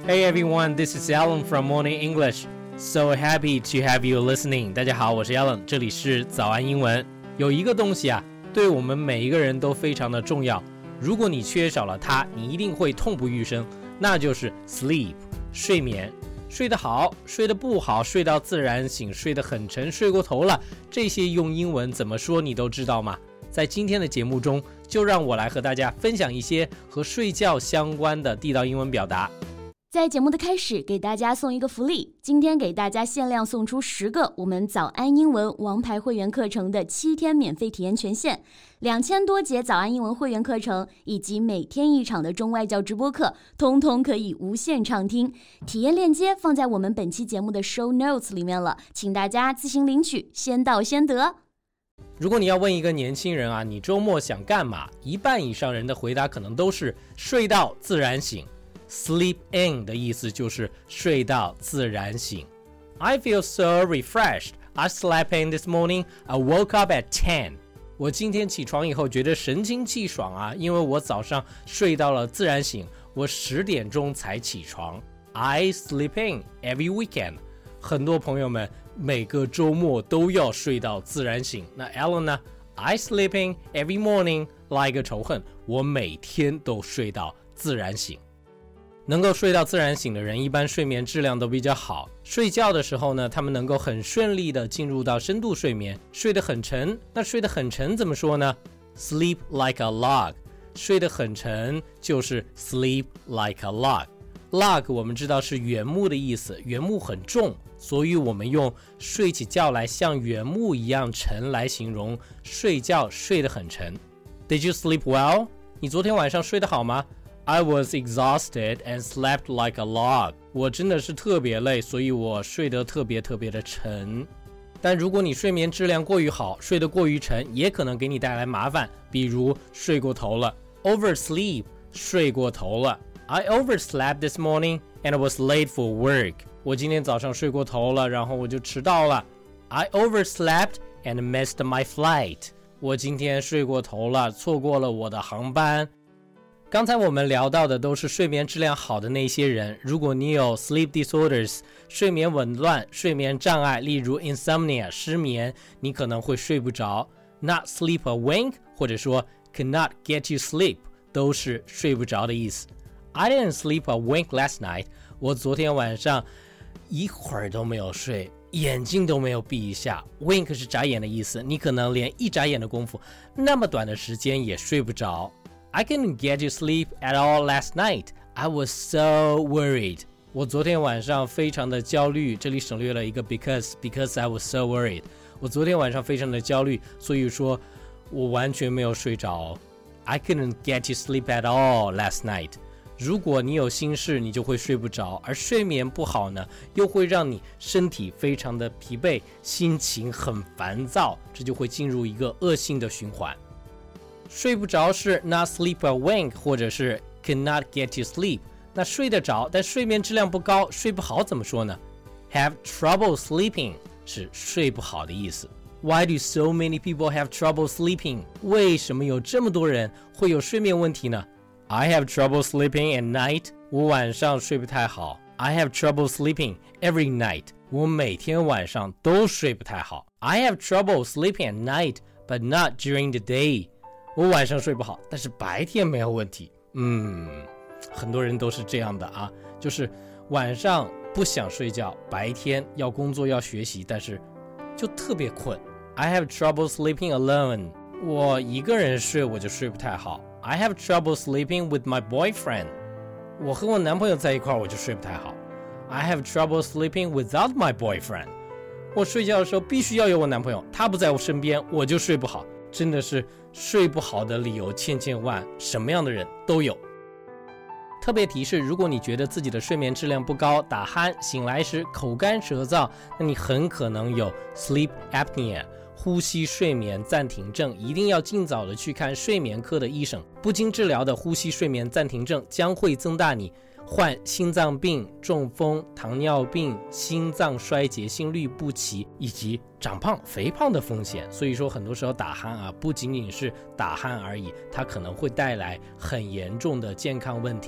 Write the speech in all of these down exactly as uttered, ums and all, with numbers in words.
Hey everyone, this is Alan from Morning English. So happy to have you listening. 大家好，我是 Alan， 这里是早安英文。有一个东西啊，对我们每一个人都非常的重要。如果你缺少了它，你一定会痛不欲生，那就是 sleep， 睡眠。睡得好，睡得不好，睡到自然醒，睡得很沉，睡过头了，这些用英文怎么说你都知道吗？在今天的节目中，就让我来和大家分享一些和睡觉相关的地道英文表达。 在节目的开始，给大家送一个福利，今天给大家限量送出十个我们早安英文王牌会员课程的七天免费体验权限，两千多节早安英文会员课程以及每天一场的中外教直播课，通通可以无限畅听。体验链接放在我们本期节目的 show notes 里面了，请大家自行领取，先到先得。 如果你要问一个年轻人啊，你周末想干嘛？一半以上人的回答可能都是睡到自然醒。Sleep in 的意思就是睡到自然醒。I feel so refreshed. I slept in this morning. I woke up at ten. 我今天起床以后觉得神清气爽啊，因为我早上睡到了自然醒，我十点钟才起床。I sleep in every weekend. 很多朋友们每个周末都要睡到自然醒。那 Alan 呢？ I sleep in every morning. 拉一个仇恨，我每天都睡到自然醒。能够睡到自然醒的人一般睡眠质量都比较好，睡觉的时候呢，他们能够很顺利的进入到深度睡眠，睡得很沉。那睡得很沉怎么说呢？ Sleep like a log. 睡得很沉就是 sleep like a log. Log 我们知道是原木的意思，原木很重，所以我们用睡起觉来像原木一样沉来形容睡觉睡得很沉。 Did you sleep well? 你昨天晚上睡得好吗？I was exhausted and slept like a log. 我真的是特别累，所以我睡得特别特别的沉。但如果你睡眠质量过于好，睡得过于沉，也可能给你带来麻烦，比如睡过头了 oversleep 睡过头了。 I overslept this morning and I was late for work. 我今天早上睡过头了，然后我就迟到了。 I overslept and missed my flight. 我今天睡过头了，错过了我的航班。刚才我们聊到的都是睡眠质量好的那些人，如果你有 sleep disorders 睡眠紊乱、睡眠障碍，例如 insomnia 失眠，你可能会睡不着。 Not sleep a wink 或者说 cannot get you sleep 都是睡不着的意思。 I didn't sleep a wink last night. 我昨天晚上一会儿都没有睡，眼睛都没有闭一下。 Wink 是眨眼的意思，你可能连一眨眼的功夫那么短的时间也睡不着。I couldn't get you sleep at all last night. I was so worried. 我昨天晚上非常的焦虑，这里省略了一个 because, because I was so worried. 我昨天晚上非常的焦虑，所以说我完全没有睡着。I couldn't get you sleep at all last night. 如果你有心事，你就会睡不着，而睡眠不好呢，又会让你身体非常的疲惫，心情很烦躁，这就会进入一个恶性的循环。睡不着是 not sleep a wink 或者是 cannot get you sleep. 那睡得着但睡眠质量不高，睡不好怎么说呢？ Have trouble sleeping 是睡不好的意思。 Why do so many people have trouble sleeping? 为什么有这么多人会有睡眠问题呢？ I have trouble sleeping at night. 我晚上睡不太好。 I have trouble sleeping every night. 我每天晚上都睡不太好。 I have trouble sleeping at night but not during the day. 我晚上睡不好，但是白天没有问题。嗯，很多人都是这样的啊，就是晚上不想睡觉，白天要工作要学习，但是就特别困。 I have trouble sleeping alone. 我一个人睡我就睡不太好。 I have trouble sleeping with my boyfriend. 我和我男朋友在一块我就睡不太好。 I have trouble sleeping without my boyfriend. 我睡觉的时候必须要有我男朋友，他不在我身边我就睡不好。真的是睡不好的理由千千万，什么样的人都有。特别提示，如果你觉得自己的睡眠质量不高，打鼾，醒来时口干舌燥，那你很可能有 sleep apnea 呼吸睡眠暂停症，一定要尽早的去看睡眠科的医生。不经治疗的呼吸睡眠暂停症将会增大你患心脏病、中风、糖尿病、心脏衰竭、心律不齐以及长胖、肥胖的风险。所以说很多时候打鼾啊，不仅仅是打鼾而已，它可能会带来很严重的健康问题。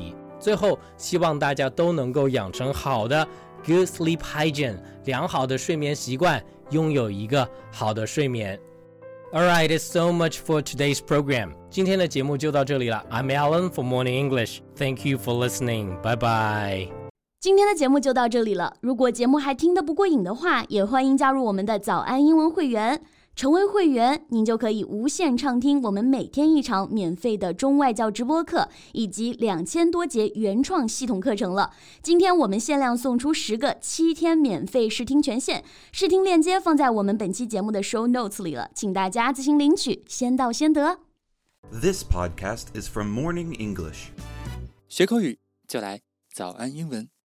最后希望大家都能够养成好的 good sleep hygiene 良好的睡眠习惯，拥有一个好的睡眠。Alright, it's so much for today's program. 今天的节目就到这里了。I'm Alan for Morning English. Thank you for listening. Bye bye. 今天的节目就到这里了。如果节目还听得不过瘾的话，也欢迎加入我们的早安英文会员。成为会员，您就可以无限畅听我们每天一场免费的中外教直播课，以及两千多节原创系统课程了。今天我们限量送出十个七天免费试听权限，试听链接放在我们本期节目的 show notes 里了，请大家自行领取，先到先得。 This podcast is from Morning English. 学口语就来早安英文。